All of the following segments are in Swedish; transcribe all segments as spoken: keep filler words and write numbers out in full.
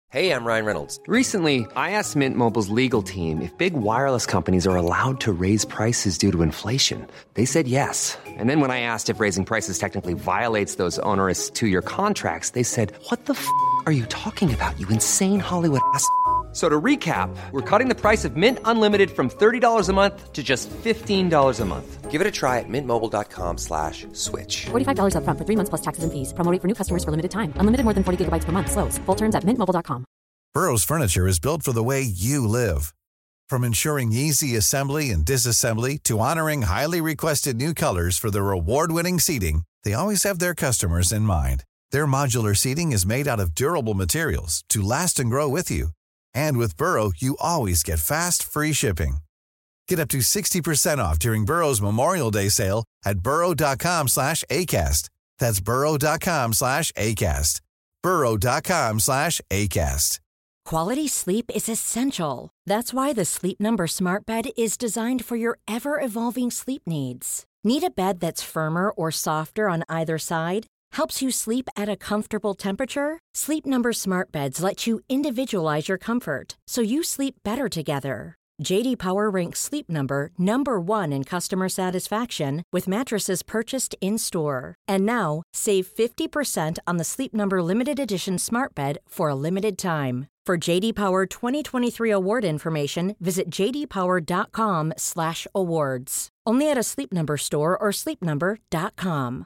Hey, I'm Ryan Reynolds. Recently, I asked Mint Mobile's legal team if big wireless companies are allowed to raise prices due to inflation. They said yes. And then when I asked if raising prices technically violates those onerous two-year contracts, they said, "What the f*** are you talking about, you insane Hollywood ass?" So to recap, we're cutting the price of Mint Unlimited from thirty dollars a month to just fifteen dollars a month. Give it a try at mintmobile.com slash switch. forty-five dollars up front for three months plus taxes and fees. Promo rate for new customers for limited time. Unlimited more than forty gigabytes per month. Slows full terms at mint mobile dot com. Burrow's furniture is built for the way you live. From ensuring easy assembly and disassembly to honoring highly requested new colors for their award-winning seating, they always have their customers in mind. Their modular seating is made out of durable materials to last and grow with you. And with Burrow, you always get fast, free shipping. Get up to sixty percent off during Burrow's Memorial Day sale at burrow.com slash ACAST. That's burrow.com slash ACAST. burrow.com slash ACAST. Quality sleep is essential. That's why the Sleep Number Smart Bed is designed for your ever-evolving sleep needs. Need a bed that's firmer or softer on either side? Helps you sleep at a comfortable temperature? Sleep Number Smart Beds let you individualize your comfort so you sleep better together. J D Power ranks Sleep Number number one in customer satisfaction with mattresses purchased in-store. And now, save fifty percent on the Sleep Number Limited Edition Smart Bed for a limited time. For J D Power twenty twenty-three award information, visit jdpower.com slash awards. Only at a Sleep Number store or sleep number dot com.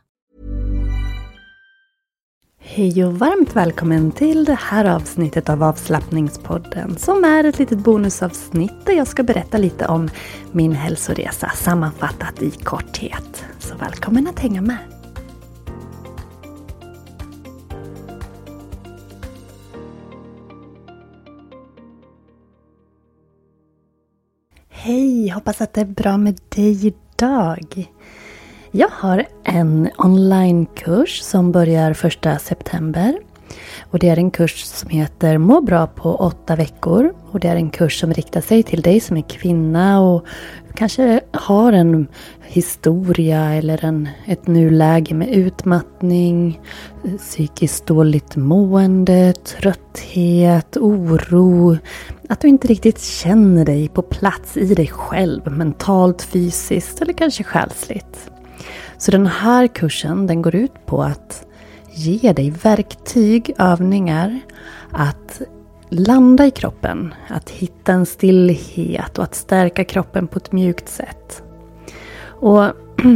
Hej och varmt välkommen till det här avsnittet av Avslappningspodden som är ett litet bonusavsnitt där jag ska berätta lite om min hälsoresa sammanfattat i korthet. Så välkommen att hänga med! Hej, hoppas att det är bra med dig idag! Jag har en onlinekurs som börjar första september och det är en kurs som heter Må bra på åtta veckor och det är en kurs som riktar sig till dig som är kvinna och kanske har en historia eller en, ett nuläge med utmattning, psykiskt dåligt mående, trötthet, oro, att du inte riktigt känner dig på plats i dig själv, mentalt, fysiskt eller kanske själsligt. Så den här kursen den går ut på att ge dig verktyg, övningar att landa i kroppen, att hitta en stillhet och att stärka kroppen på ett mjukt sätt. Och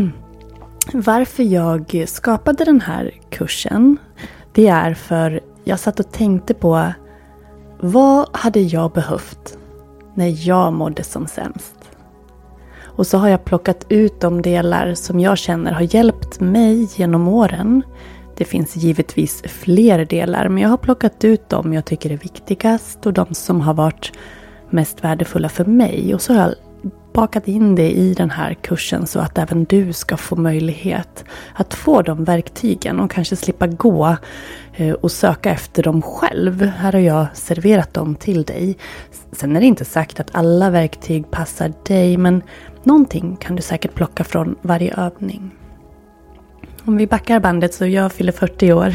varför jag skapade den här kursen, det är för jag satt och tänkte på vad hade jag behövt när jag mådde som sämst. Och så har jag plockat ut de delar som jag känner har hjälpt mig genom åren. Det finns givetvis fler delar, men jag har plockat ut dem jag tycker är viktigast och de som har varit mest värdefulla för mig. Och så har jag bakat in det i den här kursen så att även du ska få möjlighet att få de verktygen och kanske slippa gå och söka efter dem själv. Här har jag serverat dem till dig. Sen är det inte sagt att alla verktyg passar dig, men någonting kan du säkert plocka från varje övning. Om vi backar bandet så jag fyller fyrtio år.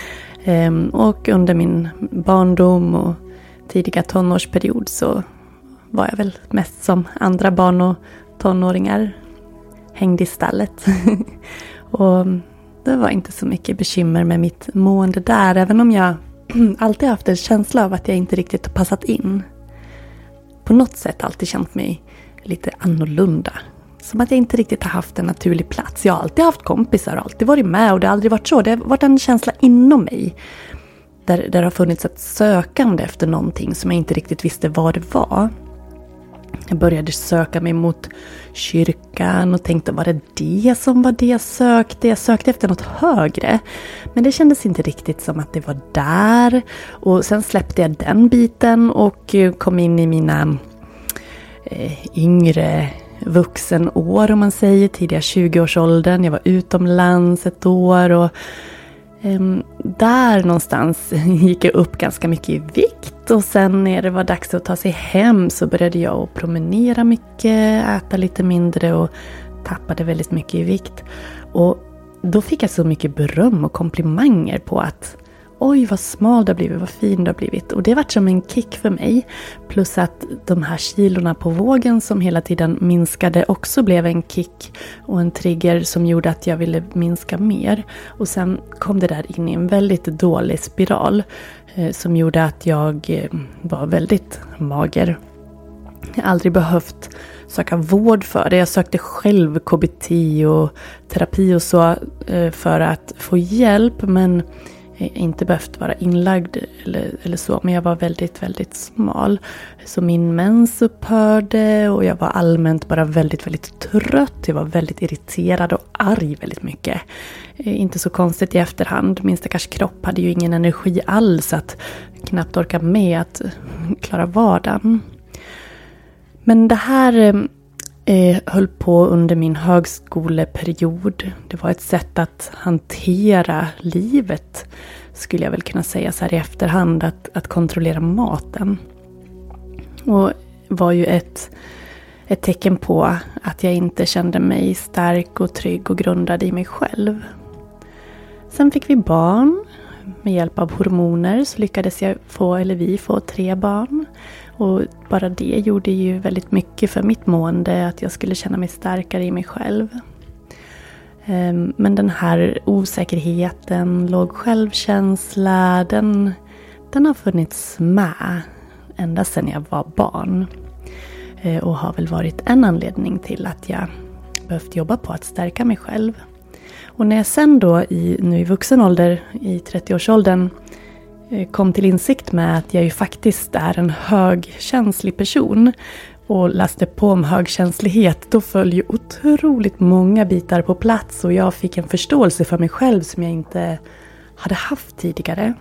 Och under min barndom och tidiga tonårsperiod så var jag väl mest som andra barn och tonåringar. Hängde i stallet. Och det var inte så mycket bekymmer med mitt mående där. Även om jag alltid haft en känsla av att jag inte riktigt har passat in. På något sätt alltid känt mig lite annorlunda. Som att jag inte riktigt har haft en naturlig plats. Jag har alltid haft kompisar och alltid varit med och det har aldrig varit så. Det har varit en känsla inom mig. Där, där det har funnits ett sökande efter någonting som jag inte riktigt visste vad det var. Jag började söka mig mot kyrkan och tänkte, var det det som var det jag sökte? Jag sökte efter något högre. Men det kändes inte riktigt som att det var där. Och sen släppte jag den biten och kom in i mina eh, yngre vuxenår, om man säger, tidiga tjugoårsåldern. Jag var utomlands ett år och Um, där någonstans gick jag upp ganska mycket i vikt och sen när det var dags att ta sig hem så började jag att promenera mycket, äta lite mindre och tappade väldigt mycket i vikt. Och då fick jag så mycket beröm och komplimanger på att oj vad smal det har blivit, vad fin det har blivit. Och det var som en kick för mig. Plus att de här kilorna på vågen som hela tiden minskade också blev en kick och en trigger som gjorde att jag ville minska mer. Och sen kom det där in i en väldigt dålig spiral eh, som gjorde att jag eh, var väldigt mager. Jag har aldrig behövt söka vård för det. Jag sökte själv K B T och terapi och så för att få hjälp. Men inte behövt vara inlagd eller, eller så. Men jag var väldigt, väldigt smal. Så min mens upphörde och jag var allmänt bara väldigt, väldigt trött. Jag var väldigt irriterad och arg väldigt mycket. Inte så konstigt i efterhand. Min stackars kropp hade ju ingen energi alls att knappt orka med att klara vardagen. Men det här eh, höll på under min högskoleperiod. Det var ett sätt att hantera livet, skulle jag väl kunna säga så här i efterhand, att, att kontrollera maten. Och var ju ett, ett tecken på att jag inte kände mig stark och trygg och grundad i mig själv. Sen fick vi barn. Med hjälp av hormoner så lyckades jag få, eller vi få tre barn. Och bara det gjorde ju väldigt mycket för mitt mående, att jag skulle känna mig starkare i mig själv. Men den här osäkerheten, låg självkänsla, den, den har funnits med ända sedan jag var barn. Och har väl varit en anledning till att jag behövt jobba på att stärka mig själv. Och när jag sen då i, nu i vuxen ålder, i trettioårsåldern, kom till insikt med att jag ju faktiskt är en högkänslig person och läste på om högkänslighet, då föll ju otroligt många bitar på plats och jag fick en förståelse för mig själv som jag inte hade haft tidigare.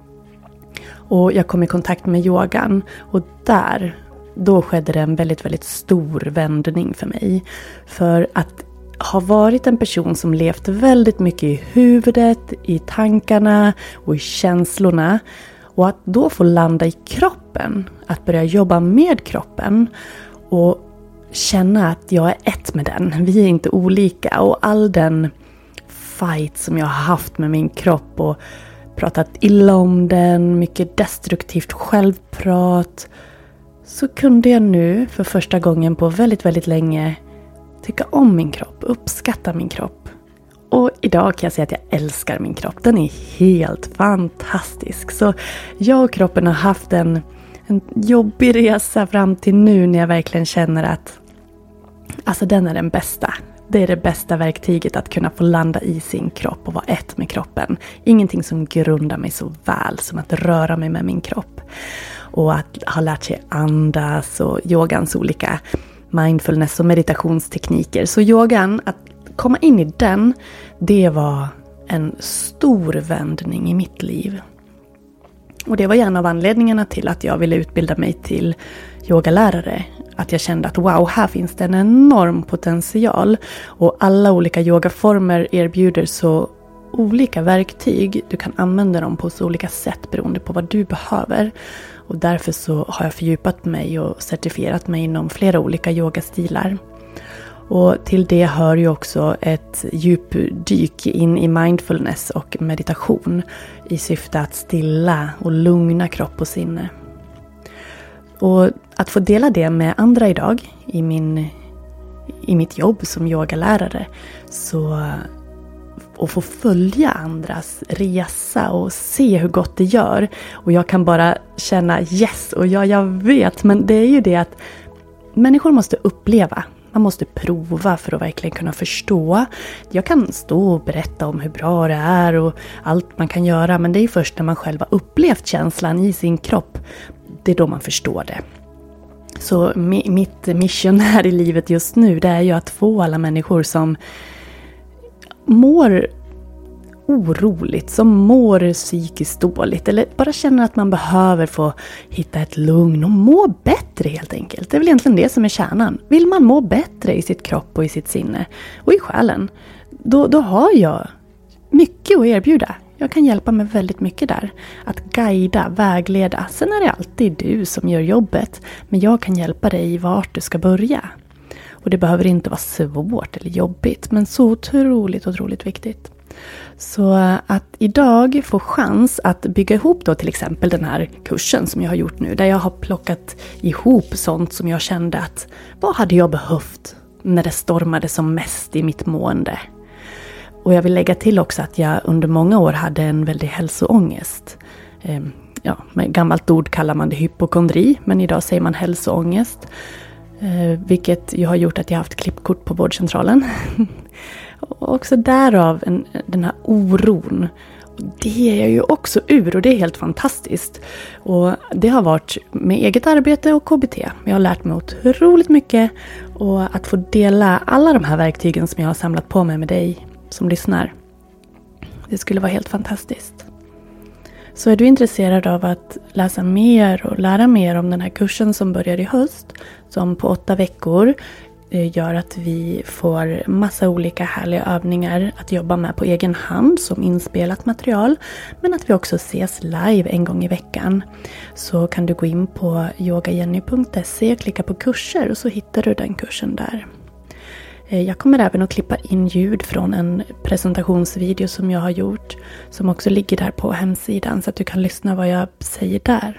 Och jag kom i kontakt med yogan och där, då skedde det en väldigt, väldigt stor vändning för mig. För att ha varit en person som levt väldigt mycket i huvudet, i tankarna och i känslorna. Och att då få landa i kroppen, att börja jobba med kroppen och känna att jag är ett med den. Vi är inte olika och all den fight som jag har haft med min kropp och pratat illa om den, mycket destruktivt självprat. Så kunde jag nu för första gången på väldigt, väldigt länge tycka om min kropp, uppskatta min kropp. Och idag kan jag säga att jag älskar min kropp. Den är helt fantastisk. Så jag och kroppen har haft en, en jobbig resa fram till nu när jag verkligen känner att alltså den är den bästa. Det är det bästa verktyget att kunna få landa i sin kropp och vara ett med kroppen. Ingenting som grundar mig så väl som att röra mig med min kropp. Och att ha lärt sig andas och yogans olika mindfulness och meditationstekniker. Så yogan, att komma in i den, det var en stor vändning i mitt liv. Och det var en av anledningarna till att jag ville utbilda mig till yogalärare. Att jag kände att wow, här finns det en enorm potential. Och alla olika yogaformer erbjuder så olika verktyg. Du kan använda dem på så olika sätt beroende på vad du behöver. Och därför så har jag fördjupat mig och certifierat mig inom flera olika yogastilar. Och till det hör ju också ett djupdyk in i mindfulness och meditation i syfte att stilla och lugna kropp och sinne. Och att få dela det med andra idag i, min, i mitt jobb som yogalärare, så och få följa andras resa och se hur gott det gör. Och jag kan bara känna yes, och ja, jag vet, men det är ju det att människor måste uppleva. Man måste prova för att verkligen kunna förstå. Jag kan stå och berätta om hur bra det är och allt man kan göra, men det är först när man själv har upplevt känslan i sin kropp, det är då man förstår det. Så mitt mission här i livet just nu, det är ju att få alla människor som mår oroligt, som mår psykiskt dåligt eller bara känner att man behöver få hitta ett lugn och må bättre helt enkelt. Det är väl egentligen det som är kärnan. Vill man må bättre i sitt kropp och i sitt sinne och i själen, då, då har jag mycket att erbjuda. Jag kan hjälpa med väldigt mycket där. Att guida, vägleda. Sen är det alltid du som gör jobbet, men jag kan hjälpa dig vart du ska börja. Och det behöver inte vara svårt eller jobbigt, men så otroligt, otroligt viktigt. Så att idag få chans att bygga ihop då till exempel den här kursen som jag har gjort nu. Där jag har plockat ihop sånt som jag kände att vad hade jag behövt när det stormade som mest i mitt mående. Och jag vill lägga till också att jag under många år hade en väldig hälsoångest. Ja, med gammalt ord kallar man det hypokondri, men idag säger man hälsoångest. Vilket ju har gjort att jag har haft klippkort på vårdcentralen. Och också därav en, den här oron. Det är jag ju också ur och det är helt fantastiskt. Och det har varit med eget arbete och K B T. Jag har lärt mig otroligt mycket. Och att få dela alla de här verktygen som jag har samlat på mig med dig som lyssnar. Det skulle vara helt fantastiskt. Så är du intresserad av att läsa mer och lära mer om den här kursen som börjar i höst, som på åtta veckor gör att vi får massa olika härliga övningar att jobba med på egen hand som inspelat material, men att vi också ses live en gång i veckan, så kan du gå in på yogajenny punkt se och klicka på kurser och så hittar du den kursen där. Jag kommer även att klippa in ljud från en presentationsvideo som jag har gjort, som också ligger där på hemsidan, så att du kan lyssna vad jag säger där.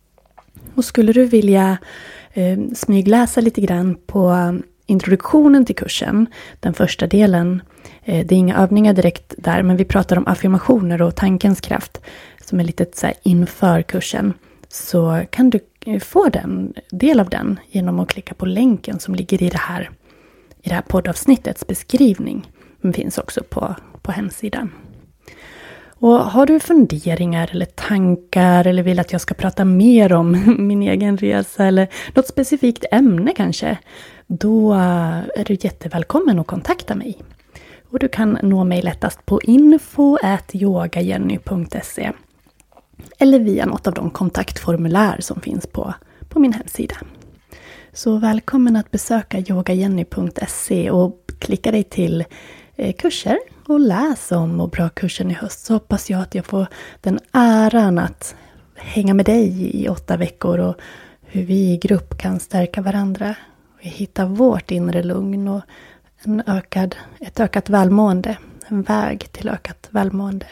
Och skulle du vilja eh, smygläsa lite grann på introduktionen till kursen, den första delen, eh, det är inga övningar direkt där, men vi pratar om affirmationer och tankens kraft som är lite så här inför kursen, så kan du få den del av den genom att klicka på länken som ligger i det här i det här poddavsnittets beskrivning, men finns också på, på hemsidan. Och har du funderingar eller tankar eller vill att jag ska prata mer om min egen resa eller något specifikt ämne kanske, då är du jättevälkommen att kontakta mig. Och du kan nå mig lättast på info at yogajenny punkt se eller via något av de kontaktformulär som finns på, på min hemsida. Så välkommen att besöka yogajenny punkt se och klicka dig till eh, kurser och läs om Må bra-kursen i höst. Så hoppas jag att jag får den äran att hänga med dig i åtta veckor och hur vi i grupp kan stärka varandra och hitta vårt inre lugn och en ökad, ett ökat välmående, en väg till ökat välmående.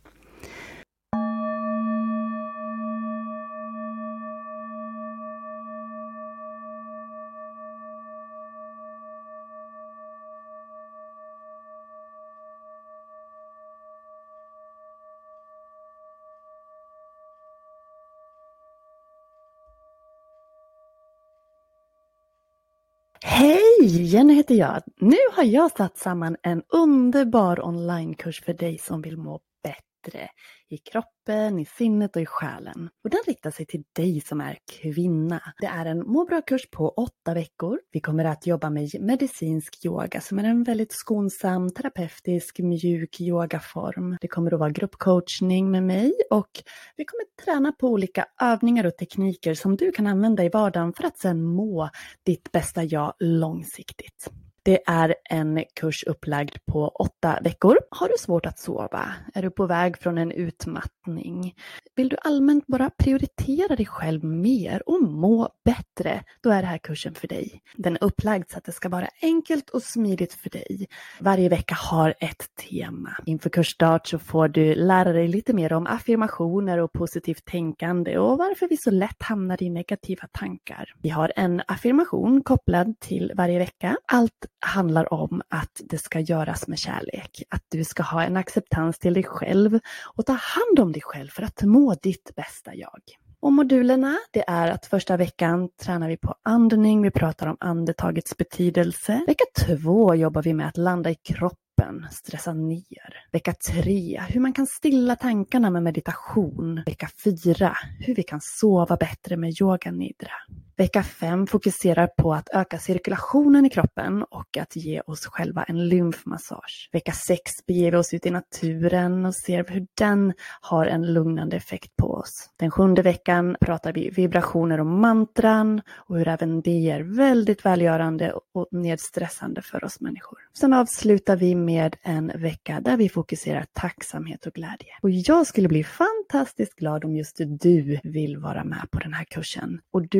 Hej! Jenny heter jag. Nu har jag satt samman en underbar onlinekurs för dig som vill må bättre i kroppen, i sinnet och i själen. Och den riktar sig till dig som är kvinna. Det är en må bra-kurs på åtta veckor. Vi kommer att jobba med medicinsk yoga som är en väldigt skonsam, terapeutisk, mjuk yogaform. Det kommer att vara gruppcoachning med mig och vi kommer träna på olika övningar och tekniker som du kan använda i vardagen för att sedan må ditt bästa jag långsiktigt. Det är en kurs upplagd på åtta veckor. Har du svårt att sova? Är du på väg från en utmattning? Vill du allmänt bara prioritera dig själv mer och må bättre? Då är det här kursen för dig. Den är upplagd så att det ska vara enkelt och smidigt för dig. Varje vecka har ett tema. Inför kursstart så får du lära dig lite mer om affirmationer och positivt tänkande och varför vi så lätt hamnar i negativa tankar. Vi har en affirmation kopplad till varje vecka. Allt handlar om att det ska göras med kärlek. Att du ska ha en acceptans till dig själv och ta hand om dig själv för att må ditt bästa jag. Och modulerna, det är att första veckan tränar vi på andning. Vi pratar om andetagets betydelse. Vecka två jobbar vi med att landa i kroppen, stressa ner. Vecka tre, hur man kan stilla tankarna med meditation. Vecka fyra, hur vi kan sova bättre med yoga nidra. Vecka fem fokuserar på att öka cirkulationen i kroppen och att ge oss själva en lymfmassage. Vecka sex beger vi oss ut i naturen och ser hur den har en lugnande effekt på oss. Den sjunde veckan pratar vi vibrationer och mantran och hur även det är väldigt välgörande och nedstressande för oss människor. Sen avslutar vi med en vecka där vi fokuserar tacksamhet och glädje. Och jag skulle bli fantastiskt glad om just du vill vara med på den här kursen. Och du kommer att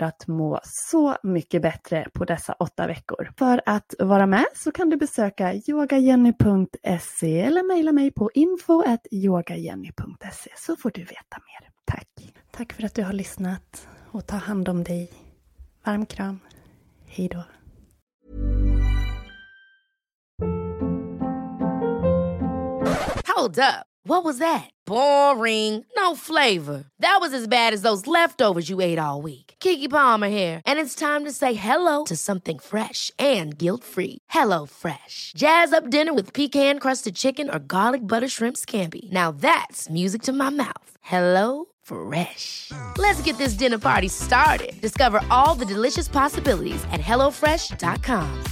att må så mycket bättre på dessa åtta veckor. För att vara med så kan du besöka yogajenny punkt se eller mejla mig på info at yogajenny punkt se så får du veta mer. Tack! Tack för att du har lyssnat och ta hand om dig. Varm kram. Hej då! Hold up. What was that? Boring. No flavor. That was as bad as those leftovers you ate all week. Keke Palmer here, and it's time to say hello to something fresh and guilt-free. Hello Fresh. Jazz up dinner with pecan-crusted chicken or garlic butter shrimp scampi. Now that's music to my mouth. Hello Fresh. Let's get this dinner party started. Discover all the delicious possibilities at hello fresh dot com.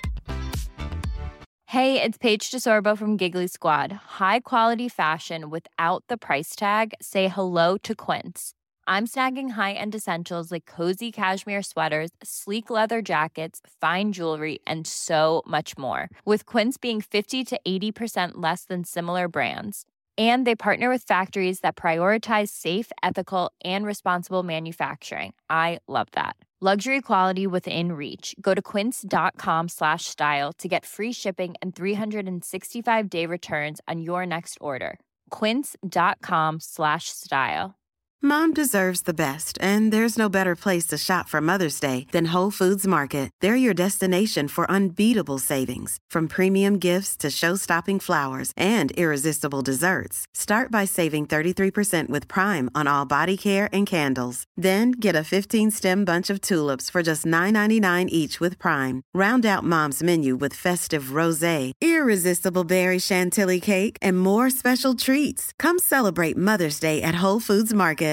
Hey, it's Paige DeSorbo from Giggly Squad. High quality fashion without the price tag. Say hello to Quince. I'm snagging high-end essentials like cozy cashmere sweaters, sleek leather jackets, fine jewelry, and so much more. With Quince being fifty to eighty percent less than similar brands. And they partner with factories that prioritize safe, ethical, and responsible manufacturing. I love that. Luxury quality within reach. Go to quince.com slash style to get free shipping and three sixty-five day returns on your next order. Quince.com slash style. Mom deserves the best, and there's no better place to shop for Mother's Day than Whole Foods Market. They're your destination for unbeatable savings, from premium gifts to show-stopping flowers and irresistible desserts. Start by saving thirty-three percent with Prime on all body care and candles. Then get a fifteen-stem bunch of tulips for just nine ninety-nine each with Prime. Round out Mom's menu with festive rosé, irresistible berry chantilly cake, and more special treats. Come celebrate Mother's Day at Whole Foods Market.